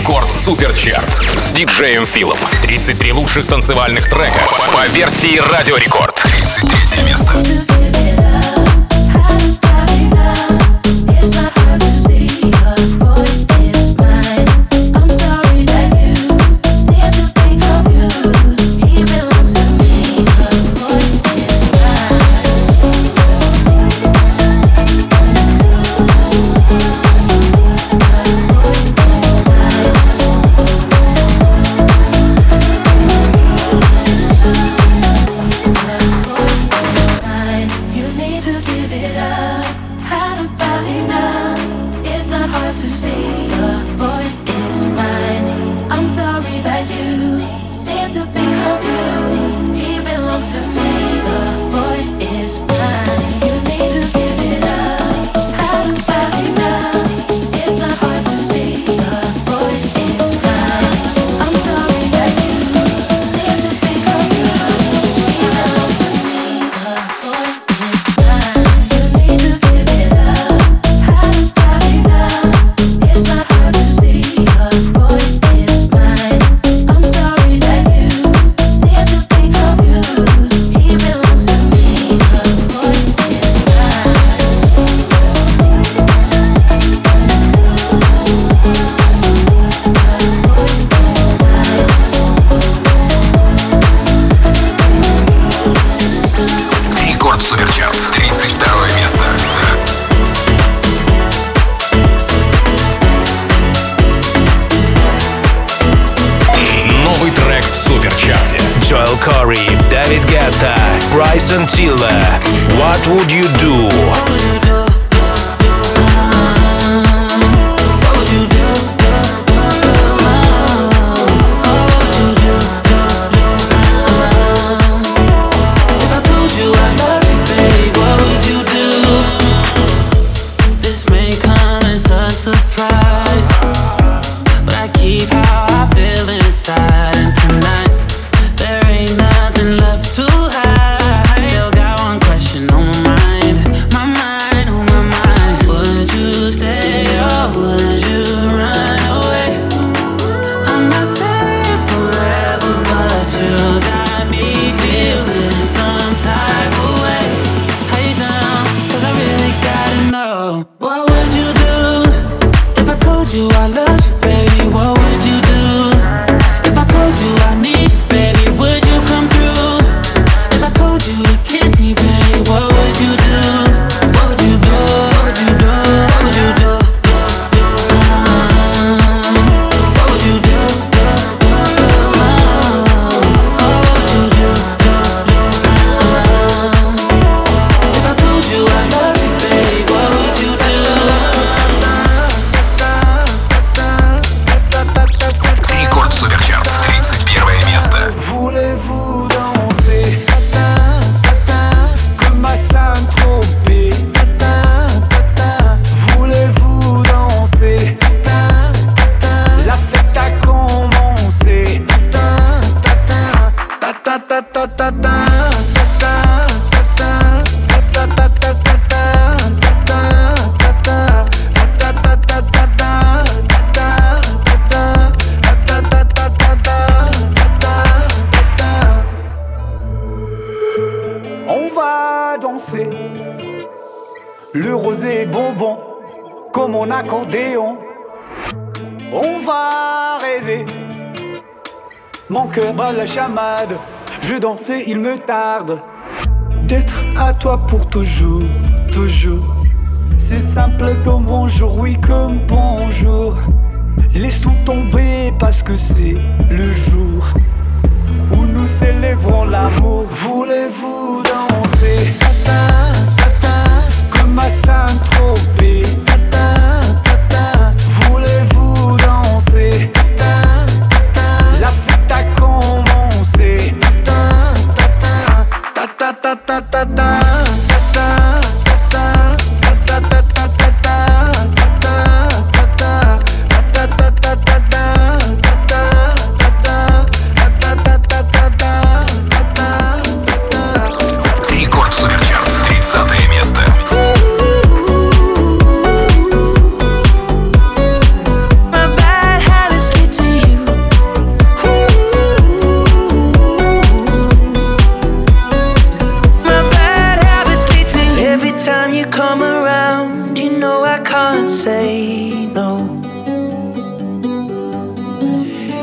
Рекорд Суперчарт с диджеем Филом. 33 лучших танцевальных трека по версии Радио Рекорд. 33 место. David Guetta, Bryson Tiller. What would you do? Le rosé est bonbon, comme mon accordéon. On va rêver. Mon cœur bat la chamade. Je danse et il me tarde d'être à toi pour toujours, toujours. C'est simple comme bonjour, oui comme bonjour. Laissons tomber parce que c'est le jour où nous célébrons l'amour. Voulez-vous danser? Comme à Saint-Tropez. Voulez-vous danser? La fête a commencé. Рекорд Суперчарт, 30 место.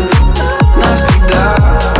навсегда.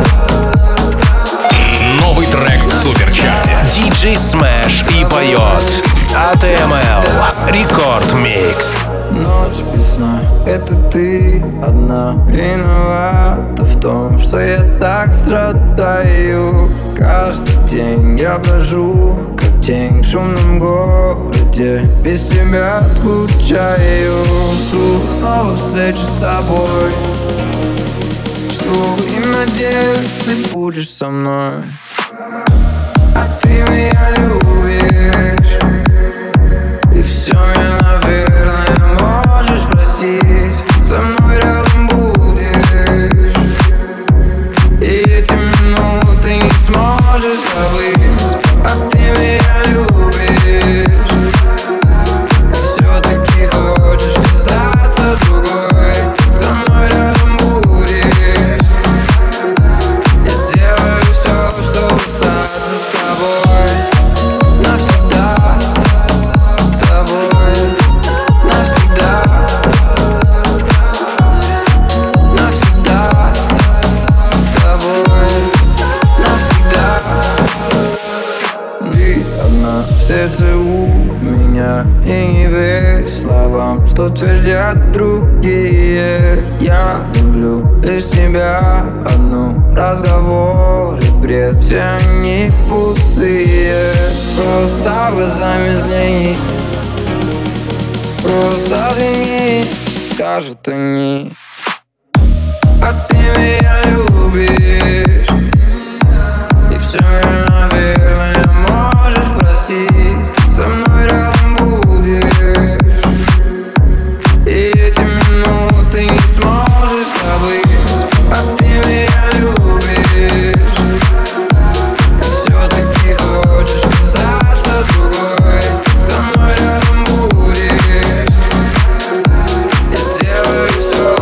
Новый трек в суперчарте. DJ Smash и поет ATML Рекорд Микс. Ночь без сна, это ты одна виновата в том, что я так страдаю. Каждый день я брожу, как тень в шумном городе, без тебя скучаю. Жду снова встречи с тобой, жду и надеюсь, ты будешь со мной. А ты меня любишь, и все меня, наверное, можешь простить. Со мной рядом будешь, и эти минуты не сможешь забыть. А ты меня любишь, и все-таки хочешь казаться другой. Со мной рядом будешь, я сделаю все, чтобы остаться с тобой навсегда. С тобой не верь словам, что твердят другие. Я люблю лишь тебя одну. Разговоры, бред, все они пустые. Просто глазами взгляни, просто взгляни, скажут они. А ты меня любишь, и все равно, наверное, можешь простить. Со мной рядом будешь, и эти минуты не сможешь забыть. А ты меня любишь, и все-таки хочешь казаться другой. Со мной рядом будешь, я сделаю все.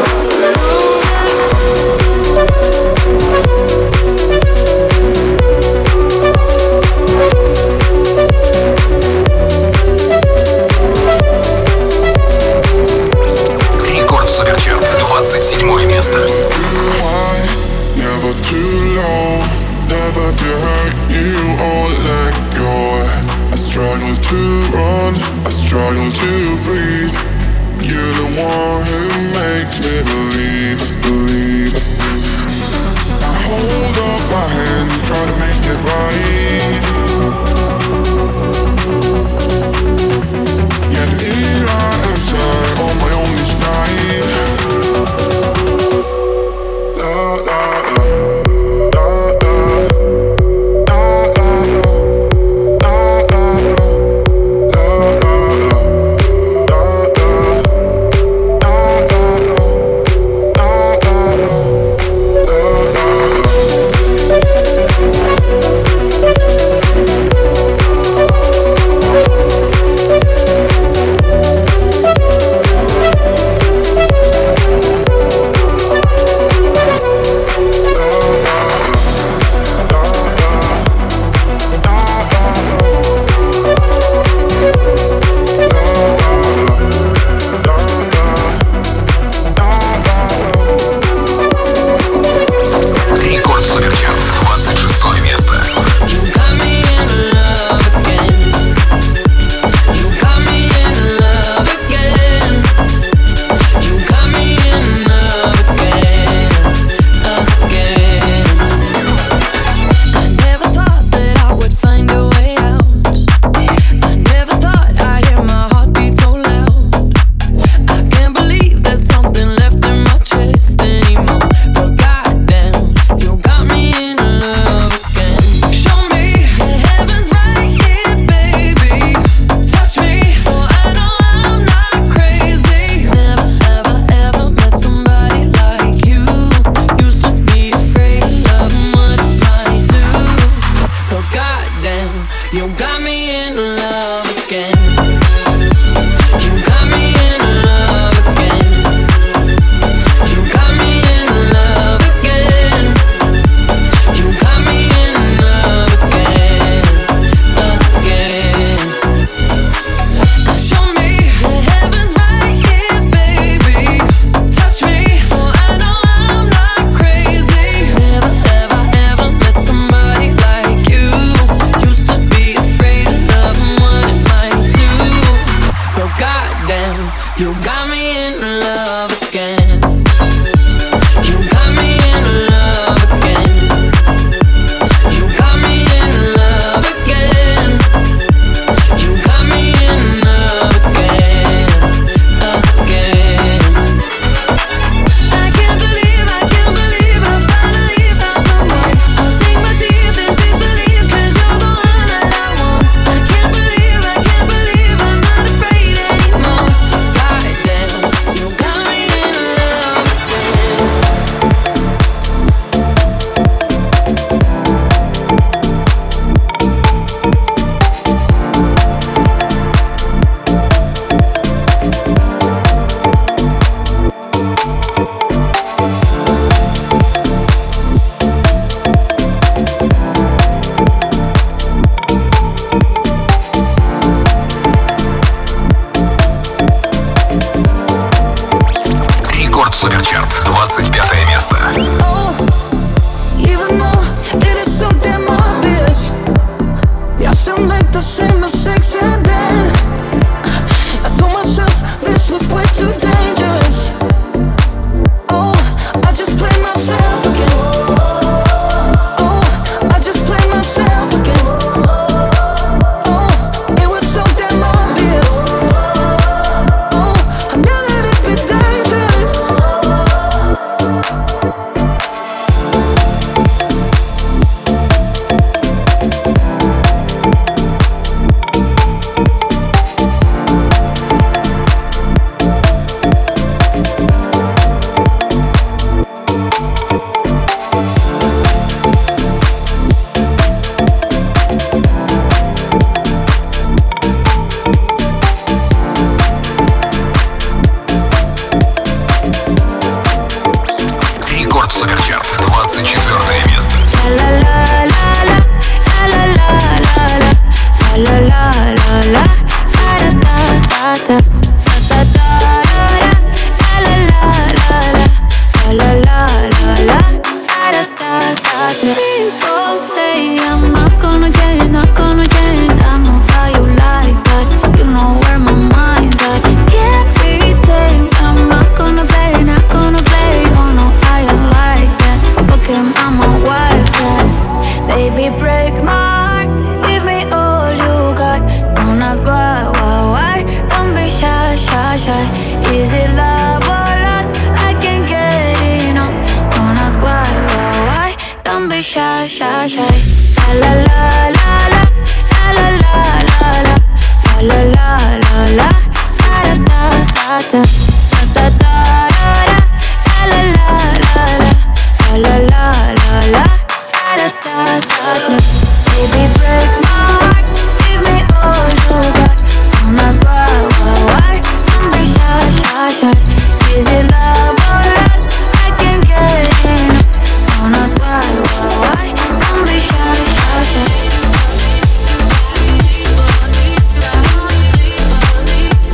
Рекорд Суперчарт, 27 место. Never too low, never to hurt you or let go. I struggle to run, I struggle to breathe. You're the one who makes me believe. I hold up my hand, try to make it right. Yeah, here I am, sir, on my own this night. La la la, la la, la la la, la la la, la la la, la la, la la la, la la la. Рекорд Суперчарт, 26 место. ta. Ta ta da da. La la la la. La la la la. Da da da da. People say I'm not gonna change, not gonna change. I know how you like that. You know where my mind's at. Can't be tamed. I'm not gonna play, not gonna play. Oh no, I am like that. Fuck him, I'm a wildcat. Baby, break my heart. Give me all you got. Don't ask why. Don't be shy, shy, shy. Is it love or lust? I can't get enough. Don't ask why. Don't be shy, shy, shy. La la la la la la la la la la la la la la da da da da da da da la la la la la la la la da da da da. Baby, break my heart, give me all you got. Don't ask why. Don't be shy, shy, shy. Is it love or lust? I can't get enough. Don't ask why. Don't be shy, shy, shy.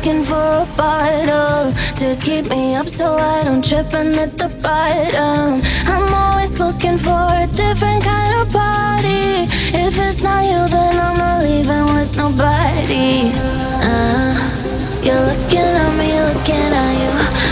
looking for a bottle to keep me up so I don't trip and at the bottom. I'm always looking for a different kind of party. If it's not you, then I'm not leaving with nobody. You're looking at me, looking at you.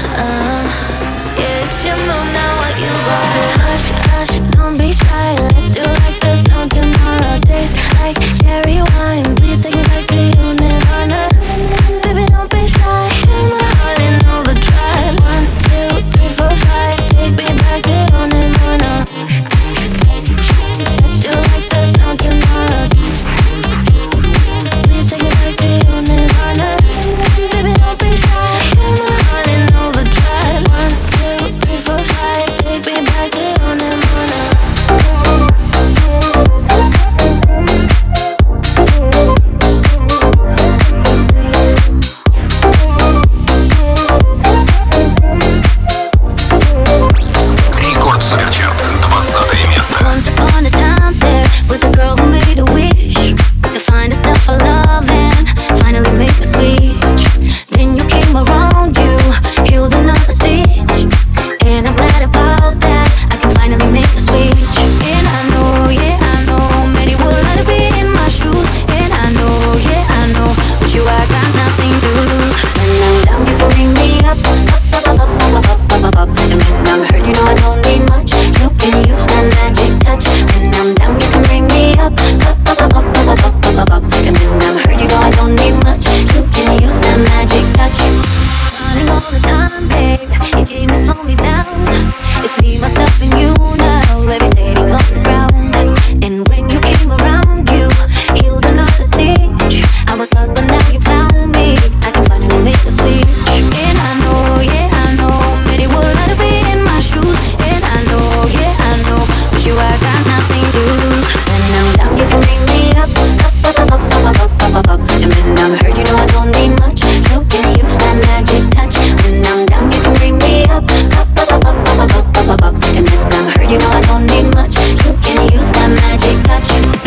Yeah, it's your move now, what you got? Hush, hush, don't be shy. Let's do like there's no tomorrow. Taste like cherry wine. Please take me back to you, Nirvana. Baby, don't be shy. Hear my heart in overdrive. 1, 2, 3, 4, 5. Take me back to you, Nirvana. Let's do like there's no tomorrow. Please take me back to you, Nirvana. Baby, don't be shy. Hear my heart in overdrive. 1, 2, 3, 4, 5. Take me back to you, Nirvana. Рекорд Суперчарт, 20 место. Once upon a time there was a girl who made a wish to find herself a love and finally make a switch. Then you came around, you healed another stitch, and I'm glad about that. I can finally make a switch. And I know, yeah, I know, many would like to be in my shoes. And I know, yeah, I know, with you I got nothing to lose. When I'm down, you can bring me up, up, up, up, up, up, up, up, up. And when I'm hurt, you know I don't need much. You can use that magic touch. When I'm down, you can bring me up, up, up, up, up, up, up, up, up, up. And when I'm hurt, you know I don't need much. You can use that magic touch. Running all the time, babe. You came to slow me down. It's me, myself, and you now, levitating off the ground. And when you came around, you healed another stitch. I was lost, but now you found me. I can finally make a switch. And I know, yeah, I know, many would like to be in my shoes. And I know, yeah, I know, with you I got nothing to lose. When I'm down, you can bring me up, up, up, up, up, up, up, up, up, up. And when I'm hurt, you know I don't need much. You can use that magic touch. When I'm down, you can bring me up, up, up, up, up, up, up, up, up, up. And when I'm hurt, you know I don't need much. You can use that magic touch.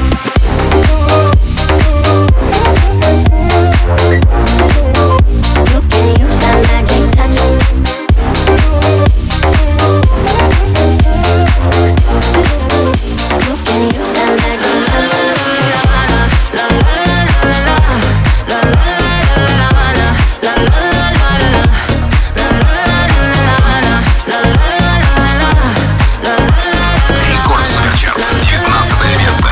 You can use that magic touch. You can use that magic touch. Рекорд Суперчарт, 19 место.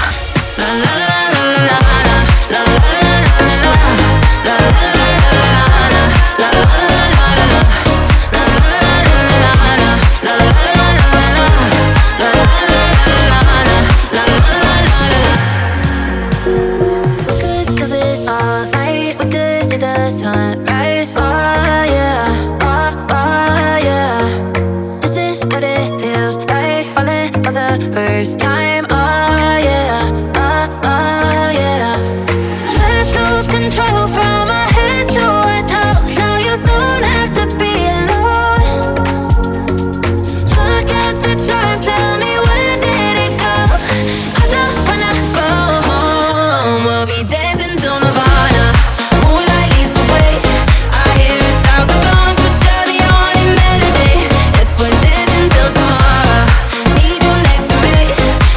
We could do this all night. We could see the sunrise. Oh yeah, oh yeah. This is what it feels like, falling for the first time. Oh yeah, oh yeah. Let's lose control from our head to our toes. Now you don't have to be alone. Look at the time, tell me where did it go? I don't wanna go home. We'll be dancing till Nirvana. Moonlight leads the way. I hear 1,000 songs, but you're the only melody. If we're dancing till tomorrow, need you next to me.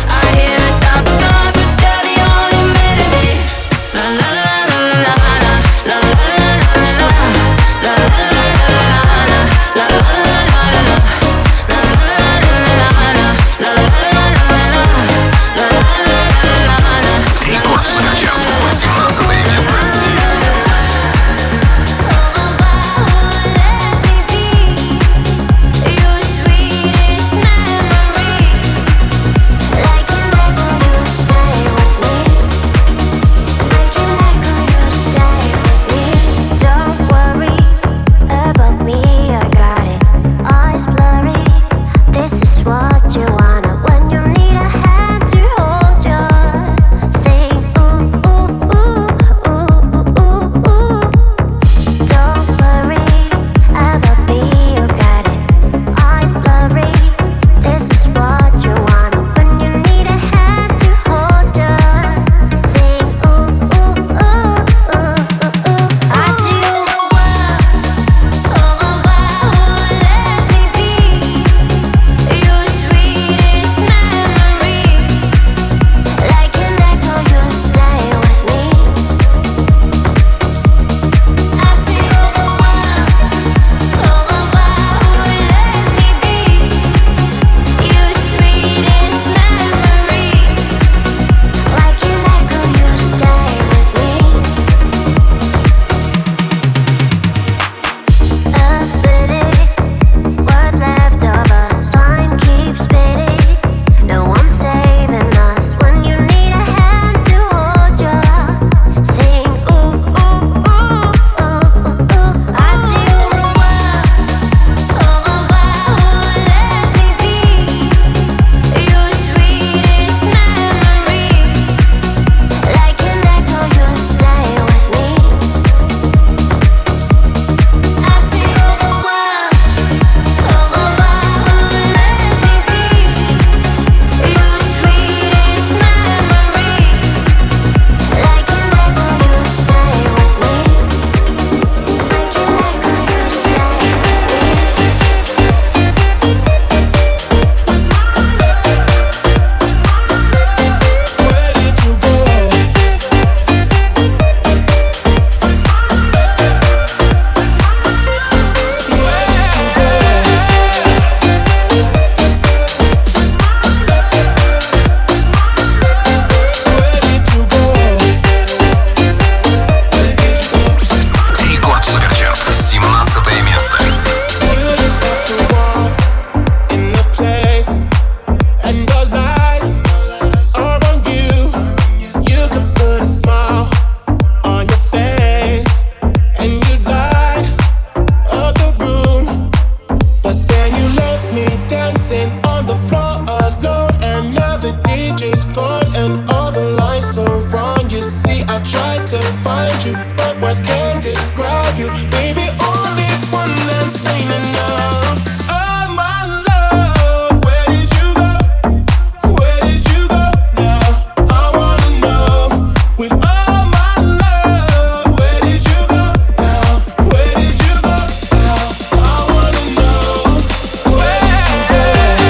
find you, but words can't describe you. Baby, only one that's ain't enough. Oh my love, where did you go? Where did you go now? I wanna know. With all my love, where did you go now? Where did you go now? I wanna know. Where did you go?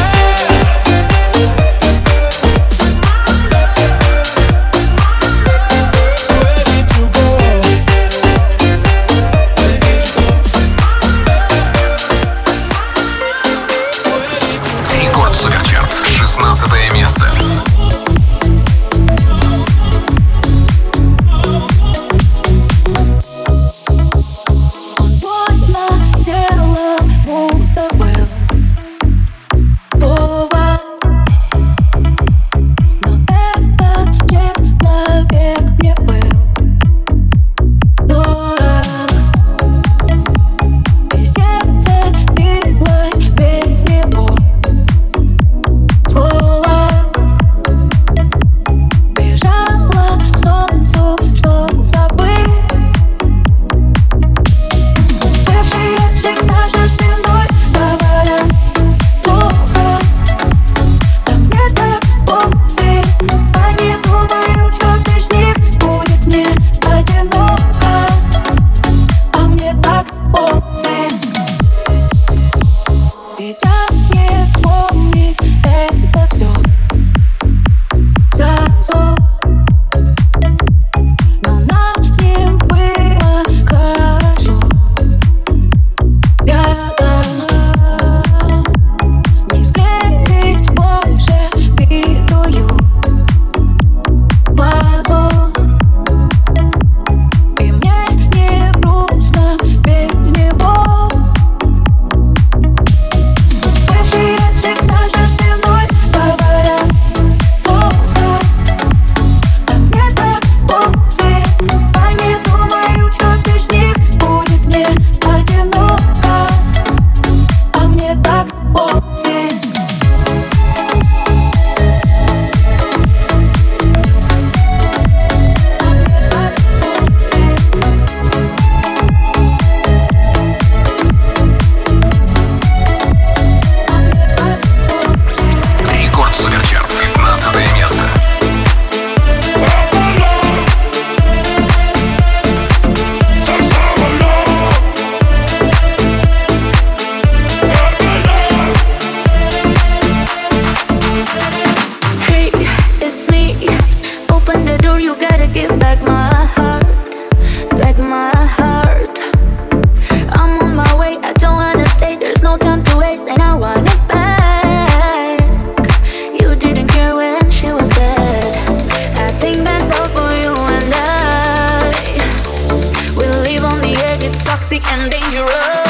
Рекорд Суперчарт, 16 место. Он больно сделал, будто был повод. Но этот человек мне был дорог. И сердце билось без него. Холод. Бежала к солнцу, чтоб забыть. Бывшие всегда же спиной говорят плохо. Да мне так пофиг. Они думают, что без них будет мне одиноко. А мне так пофиг. Сейчас не вспомнить это все сразу. Но нам с ним было хорошо рядом. Не склеить больше битую вазу. И мне не грустно без него. Бывшие всегда же спиной говорят плохо. Да мне так пофиг. Они думают, что без них будет мне одиноко. А мне так пофиг. Рекорд Суперчарт, 15 место. Hey, it's me. Open the door, you gotta give back my heart. Back my heart. I'm on my way, I don't wanna stay. There's no time to waste, and I want it back. You didn't care when she was sad. I think that's all for you and I. We live on the edge, it's toxic and dangerous.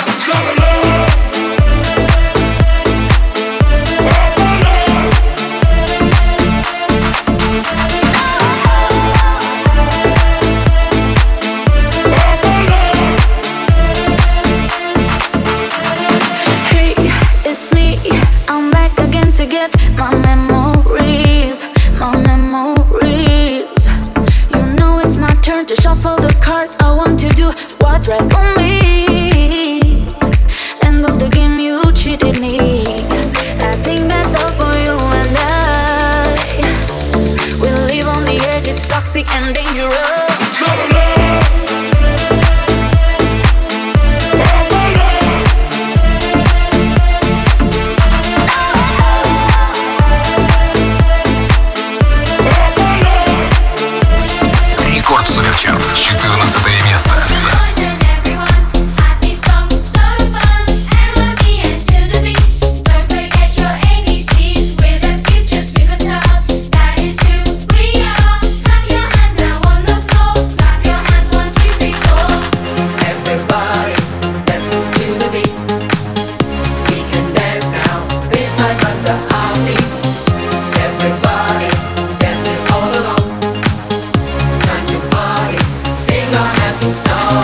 Hey, it's me. I'm back again to get my memories, my memories. You know it's my turn to shuffle the cards. I want to do what's right for me. End of the game, you cheated me. I think that's all for you and I. We live on the edge, it's toxic and dangerous. Рекорд Суперчарт, 14 место. Happy song, so fun, and let me into the beat. Don't forget your ABCs, we're the future superstars. That is who we are. Clap your hands now on the floor. Clap your hands, 1, 2, 3, 4. Everybody, let's move to the beat. We can dance now, bassline under our feet. Everybody, dancing all along. Time to party, sing our happy song.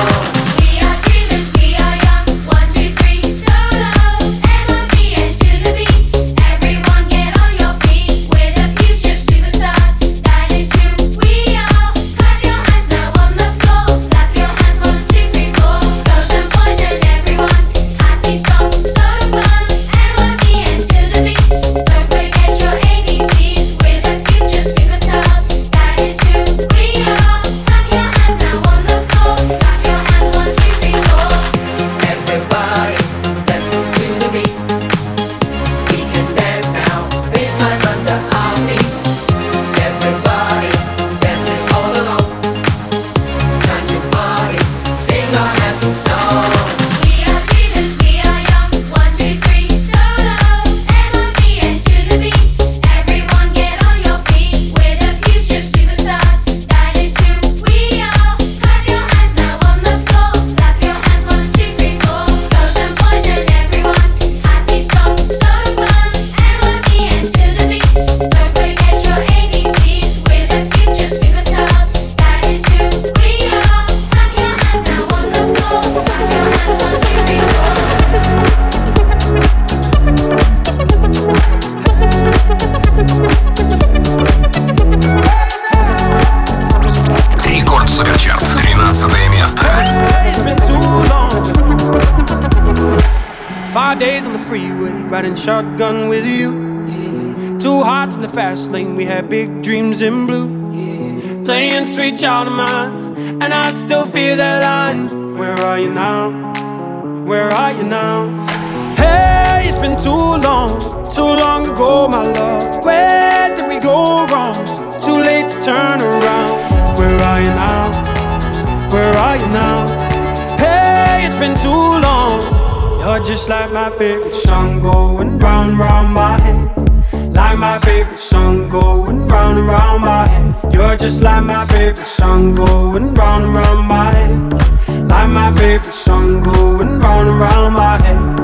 freeway, riding shotgun with you. Two hearts in the fast lane, we had big dreams in blue. Playing Sweet Child of Mine, and I still feel that line. Where are you now? Where are you now? Hey, it's been too long ago, my love. Where did we go wrong? Too late to turn around. Where are you now? Where are you now? Hey, it's been too long. You're just like my favorite song going round, round my head. Like my favorite song going round and round my head. You're just like my favorite song going round and round my head. Like my favorite song going round and round my head.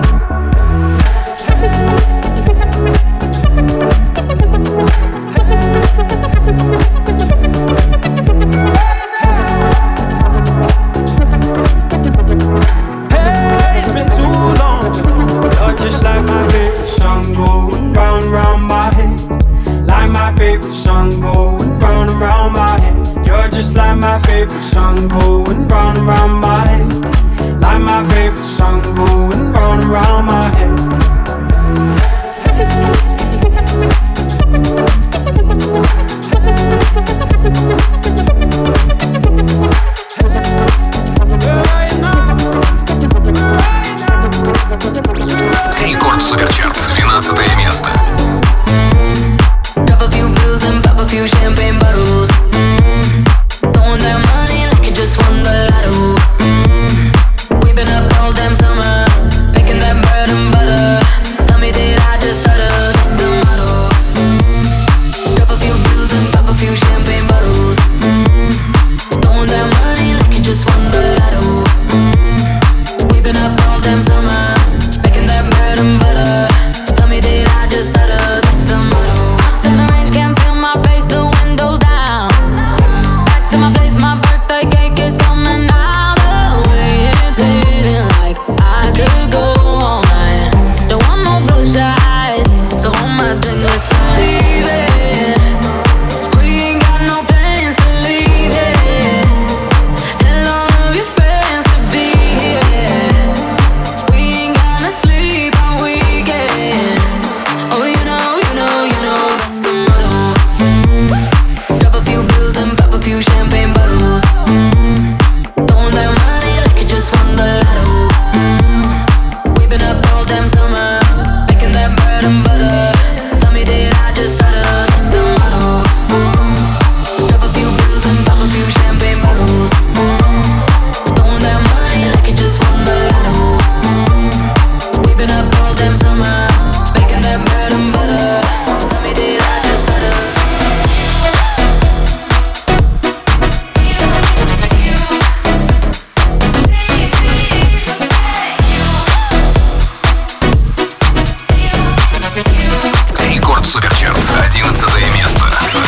Hey, it's been too long. You're just like my favorite song going round and round my head. Like my favorite song going round and round my head. You're just like my favorite song going round and round my head. Like my favorite song going round and round my head. Рекорд Суперчарт, 12 место. Drop a few bills and pop a few champagne bottles. Throwing that money like you just won the lotto. We've been up all damn summer, making that bread and butter. Tell me did I just stutter? That's the motto. Drop a few bills and pop a few champagne bottles. Throwing that money like you just won the lotto. We've been up all damn summer, making that bread and butter. Tell me did I just stutter? That's the motto. In the range, can't feel my face, the windows down. Back to my place, my birthday cake is coming out. The way it's hitting, like I could go all night. Don't want no blue eyes, so hold my drink, let's leave it. We ain't got no plans to leave it. Tell all of your friends to be here. We ain't gonna sleep all weekend. Oh, you know, that's the motto. Drop a few bills and pop a few champagne bottles. Throwing that money like you just won the lotto. We've been up all damn summer, making that bread and butter. Tell me did I just stutter? That's the motto. Drop a few bills and pop a few champagne bottles. Throwing that money like you just won the lotto. We've been up all damn summer, making that bread and butter. Tell me did I just stutter? Рекорд Суперчарт, 11 место.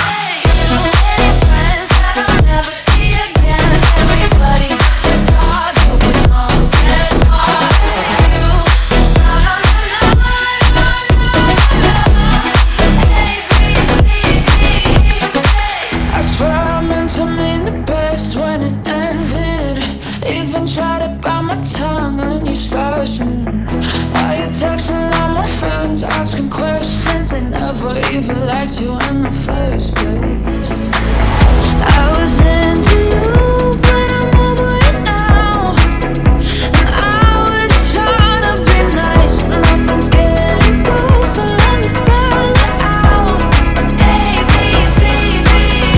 I swear I meant to mean the best when it ended. Even tried to bite my tongue and you started. Now you're texting all my friends, asking questions. They never even liked you in the first place. I was into you, but I'm over it now. And I was trying to be nice, but nothing's getting through. So let me spell it out. A, B, C, D.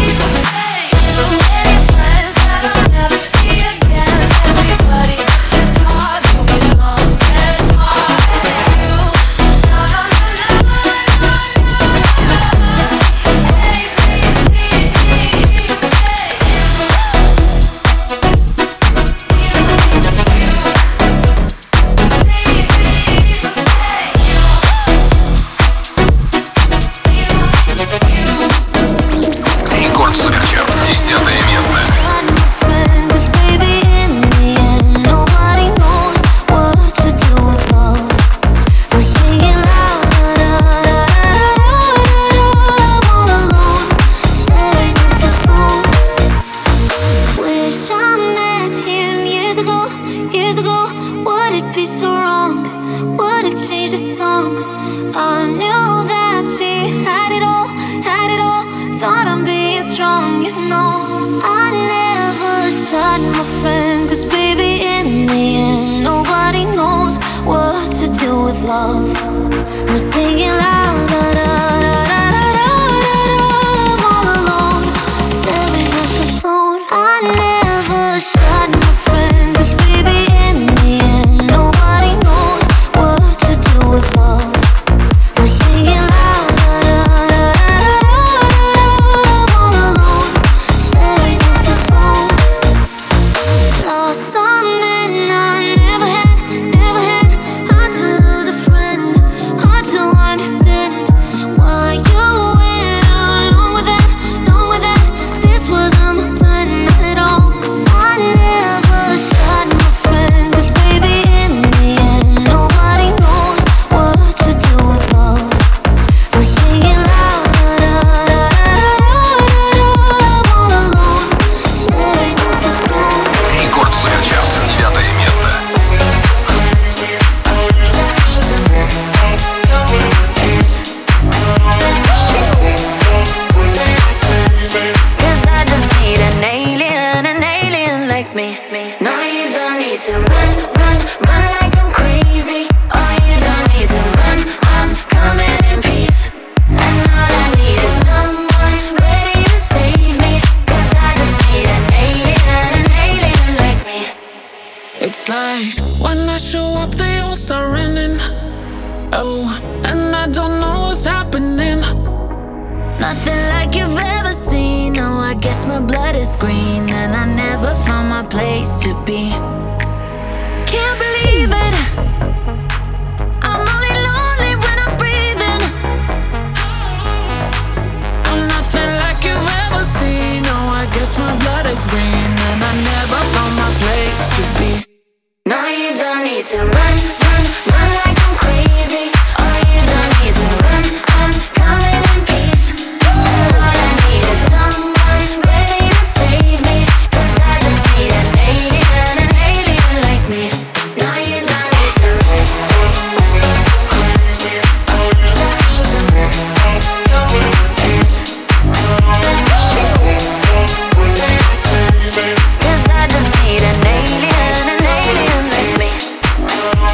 Friends that I'll never see again. Everybody that you thought you belong and lost you. A, B, C, D. love. I'm singing loud, da, da, da, da, da, da, da, I'm all alone, staring at the phone. I never shot my friend, 'cause baby in the end nobody knows what to do with love. I'm singing loud, da, da, da, da, da, I'm all alone, staring at the phone. Lost some men I never had, never had. Hard to lose a friend, hard to understand why you went along with that, along with that. This wasn't my plan at all. I never shot my friend, 'cause baby in the end nobody knows what to do with love. I'm singing loud, da, da, da, da, da, I'm all alone, staring at the phone. Рекорд Суперчарт, 9 место. Cause I just need an alien like me. No, you don't need to run, run, run like I'm crazy. Oh, you don't need to run, I'm coming in peace. And all I need is someone ready to save me. Cause I just need an alien like me. It's like when I show up, they all start running. Oh, and I don't know what's happening. Nothing like you've ever seen. No, I guess my blood is green, and I never found my place to be. Can't believe it, I'm only lonely when I'm breathing. I'm nothing like you've ever seen. No, I guess my blood is green, and I never found my place to be. No, you don't need to run, run, run like I'm crazy. Oh, you don't need to run, I'm coming in peace. All I need is someone ready to save me. 'Cause I just need an alien like me. No, you don't need to run. Cause I just need an alien like me.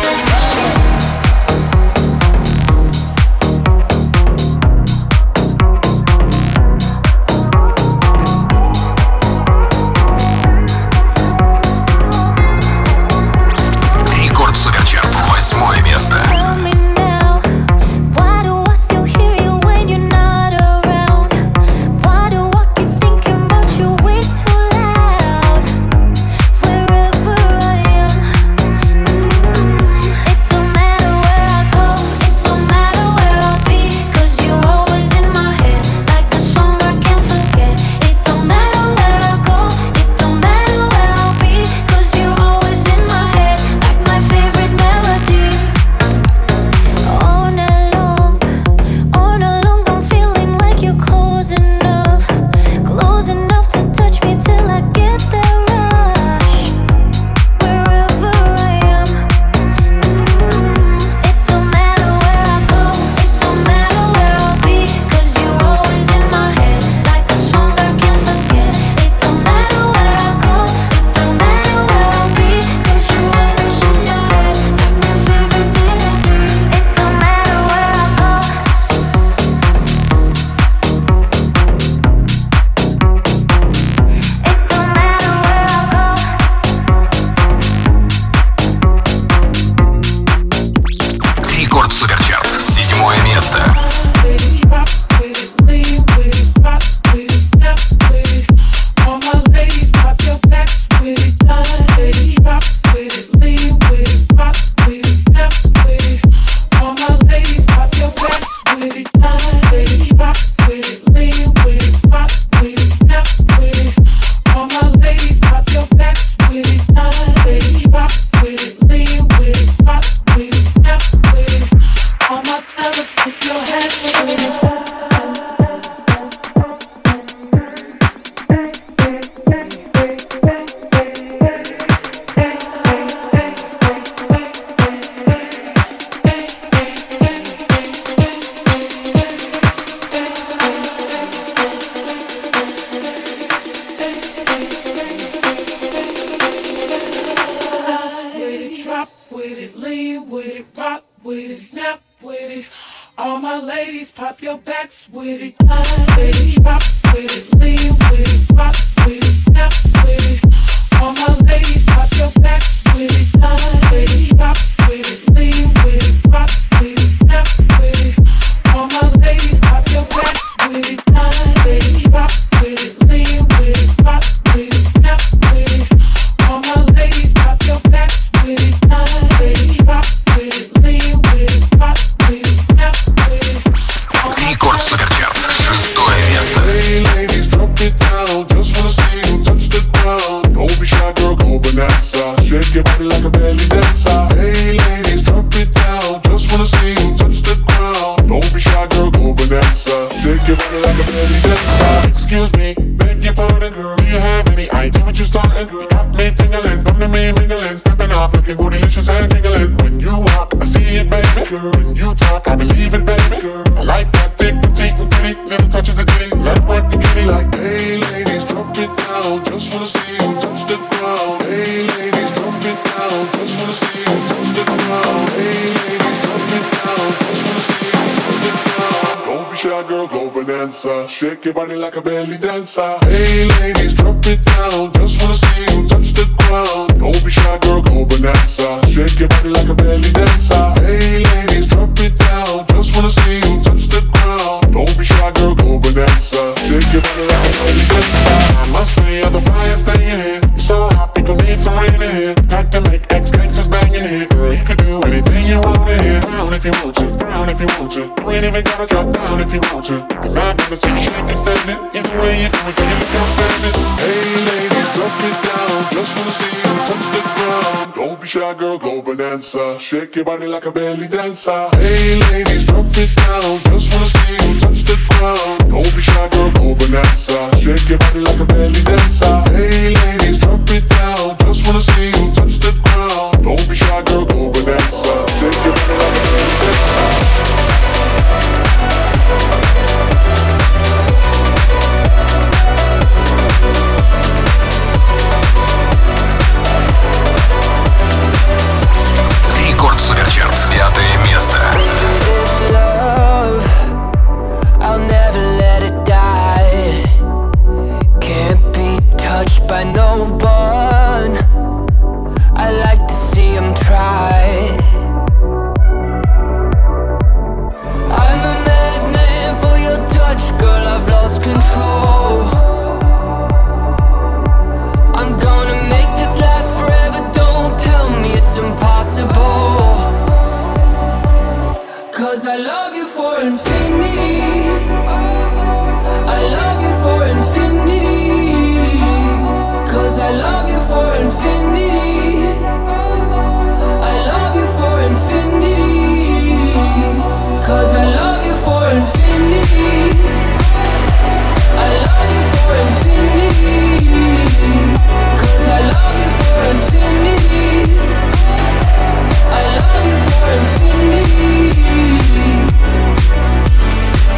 my ladies, pop your backs with it. Line with it, drop with it, lean with it, rock with it, snap with it. All my ladies, pop your backs with it. Line with it, drop with it, lean with it, rock with it, snap with it. All my ladies, pop your backs with it. Line with it, drop with it, lean with it, rock with it, snap with it. All my ladies, pop your backs with it. Line with it, drop with it, lean with it, rock with it, snap with it. Рекорд Суперчарт, 6-е место. Hey ladies, drop it down. Just wanna see you touch the ground. Don't be shy, girl, go bonanza. Shake your body like a belly dancer. Hey ladies, drop it down. Just wanna see you touch the ground. Don't be shy, girl, go bonanza. Shake your body like a belly dancer. Excuse me, beg your pardon, girl. Do you have any idea what you starting? You got me tingling, come to me mingling, stepping off, looking bootylicious and jingling. When you walk, I see it, baby. Girl, when you talk, I believe it, baby. Girl, I like that thick, petite, and pretty. Little touches of ditty, let it work the kitty. Like, hey ladies, drop it down. Just wanna see you touch the ground. Hey ladies, drop it down. Just wanna see you touch the ground. Hey ladies, drop it down. Just wanna see you touch the ground. Don't be shy, girl, go bonanza. Shake your body like a belly dancer. Hey ladies, drop it down. Just wanna see you touch the ground. Don't be shy, girl, go bonanza. Shake your body like a belly dancer. Hey ladies, drop it down. Just wanna see you touch the ground. Don't be shy, girl, go bonanza. Shake your body like a belly dancer. I must say, you're the brightest thing in here. You're so hot, we gon' need some rain in here. Time to make ex-gangsters bang in here. Girl, you could do anything you want in here. Down if you want to, down if you want to. You ain't even gotta drop down if you want to. Cause I've never seen you shake and stand it. Either way you do it, then you look outstanding. Hey ladies, drop it down. Just wanna see you touch the ground. Don't be shy, girl, go bonanza. Shake your body like a belly dancer. Hey ladies, drop it down. Just wanna see you touch the ground. Don't be shy, girl, go bonanza. Shake your body like a belly dancer. Hey ladies, drop it down. Just wanna see you touch the ground. Don't be shy, girl, go bonanza. Shake your body like a belly dancer. Рекорд Суперчарт, 5-е место. I'll never let it die. Can't be touched by no one. I like to see him try. I'm a madman for your touch, girl, I've lost control. I'm gonna make this last forever, don't tell me it's impossible. Cause I love you for infinity. I love you for infinity. Cause I love you for infinity. I love you for infinity. Cause I love you for infinity. I love you for infinity. Cause I love you for infinity. I love you for infinity.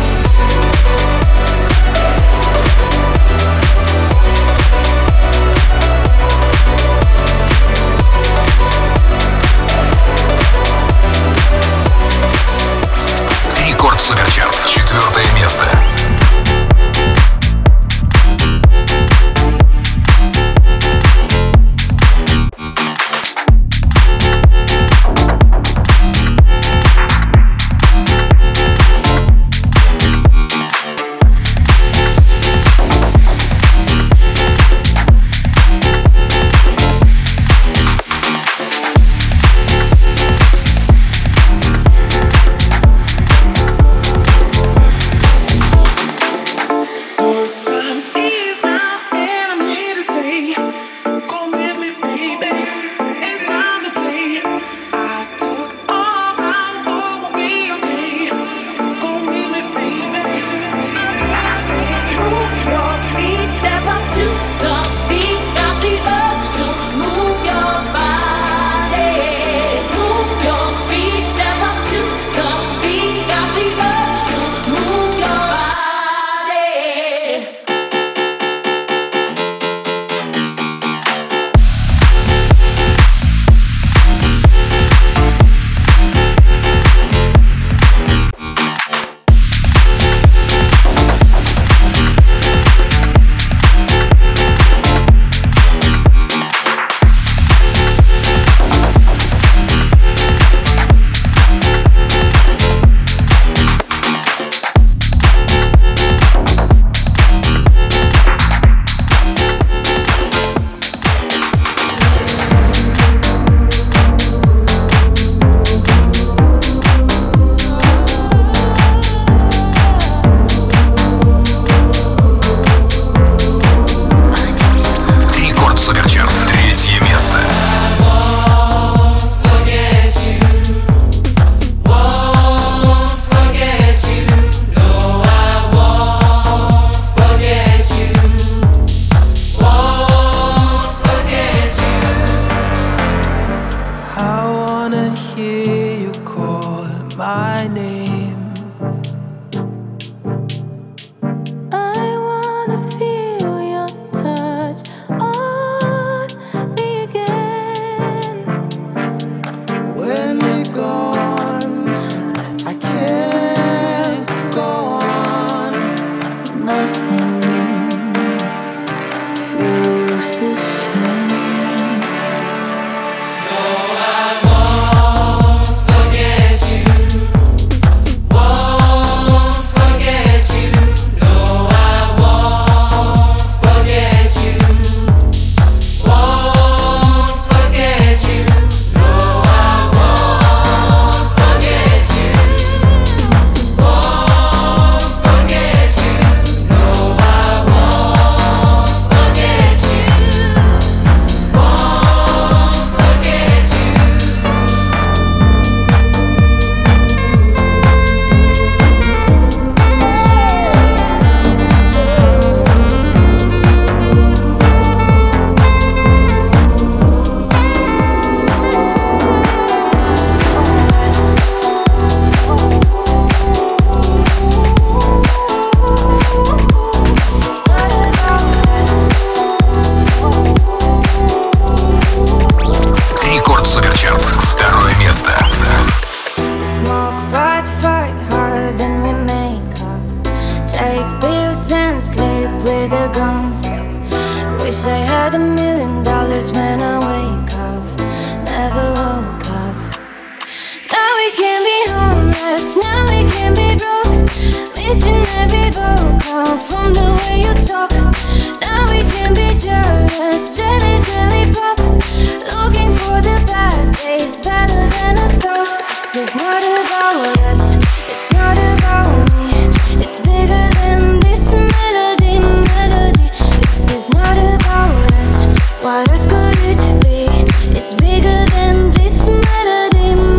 Рекорд Суперчарт. Второе место. Smoke, but fight hard, then we make up. Take pills and sleep with a gun. Wish I had $1 million when I wake up. Never woke up. Now we can be homeless, now we can be broke. Missing every vocal from the way you talk. Now we can be jealous, jelly pop. Looking for the bad days, better than I thought. This is not about us, it's not about me. It's bigger than this melody. This is not about us, what else could it be? It's bigger than this melody.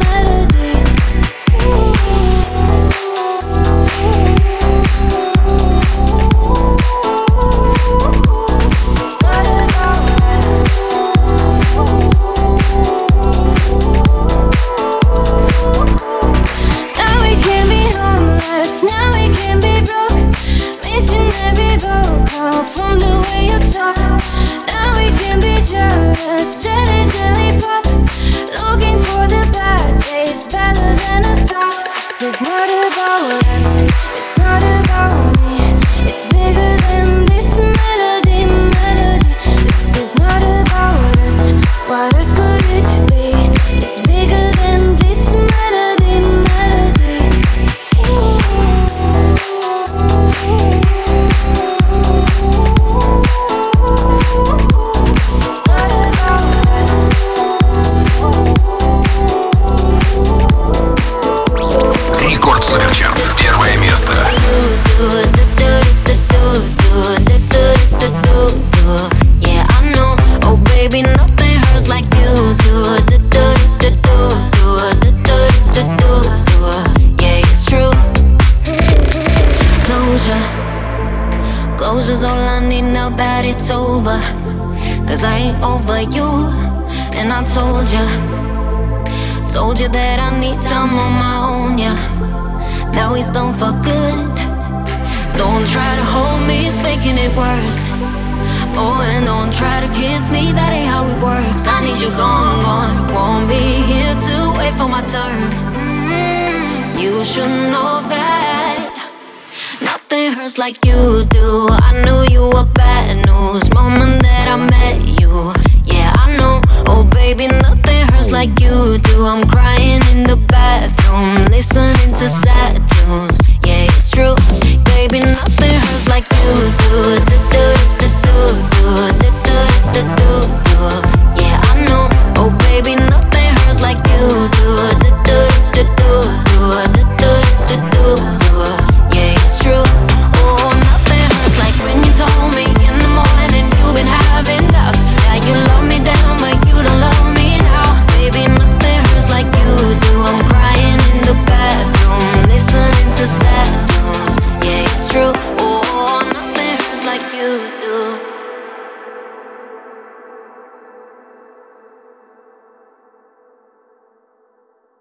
From the way you talk, now we can be jealous, jelly pop. Looking for the bad days, better than I thought. This is not about us, it's not about me. It's bigger than this melody. This is not about us, what else could it be? It's bigger than this melody. Рекорд Суперчарт. Первое место. Yeah, I know. Oh, baby, nothing hurts like you do. Yeah, it's true. Closure's all I need now that it's over. 'Cause I ain't over you. And I told you that I need time on my own, yeah. Now he's done for good. Don't try to hold me, it's making it worse. Oh, and don't try to kiss me, that ain't how it works. I need you gone. Won't be here to wait for my turn. You should know that nothing hurts like you do. I knew you were bad news moment that I met you. Yeah, I know. Oh, baby, nothing hurts like you do. I'm crying in the bathroom, listening to sad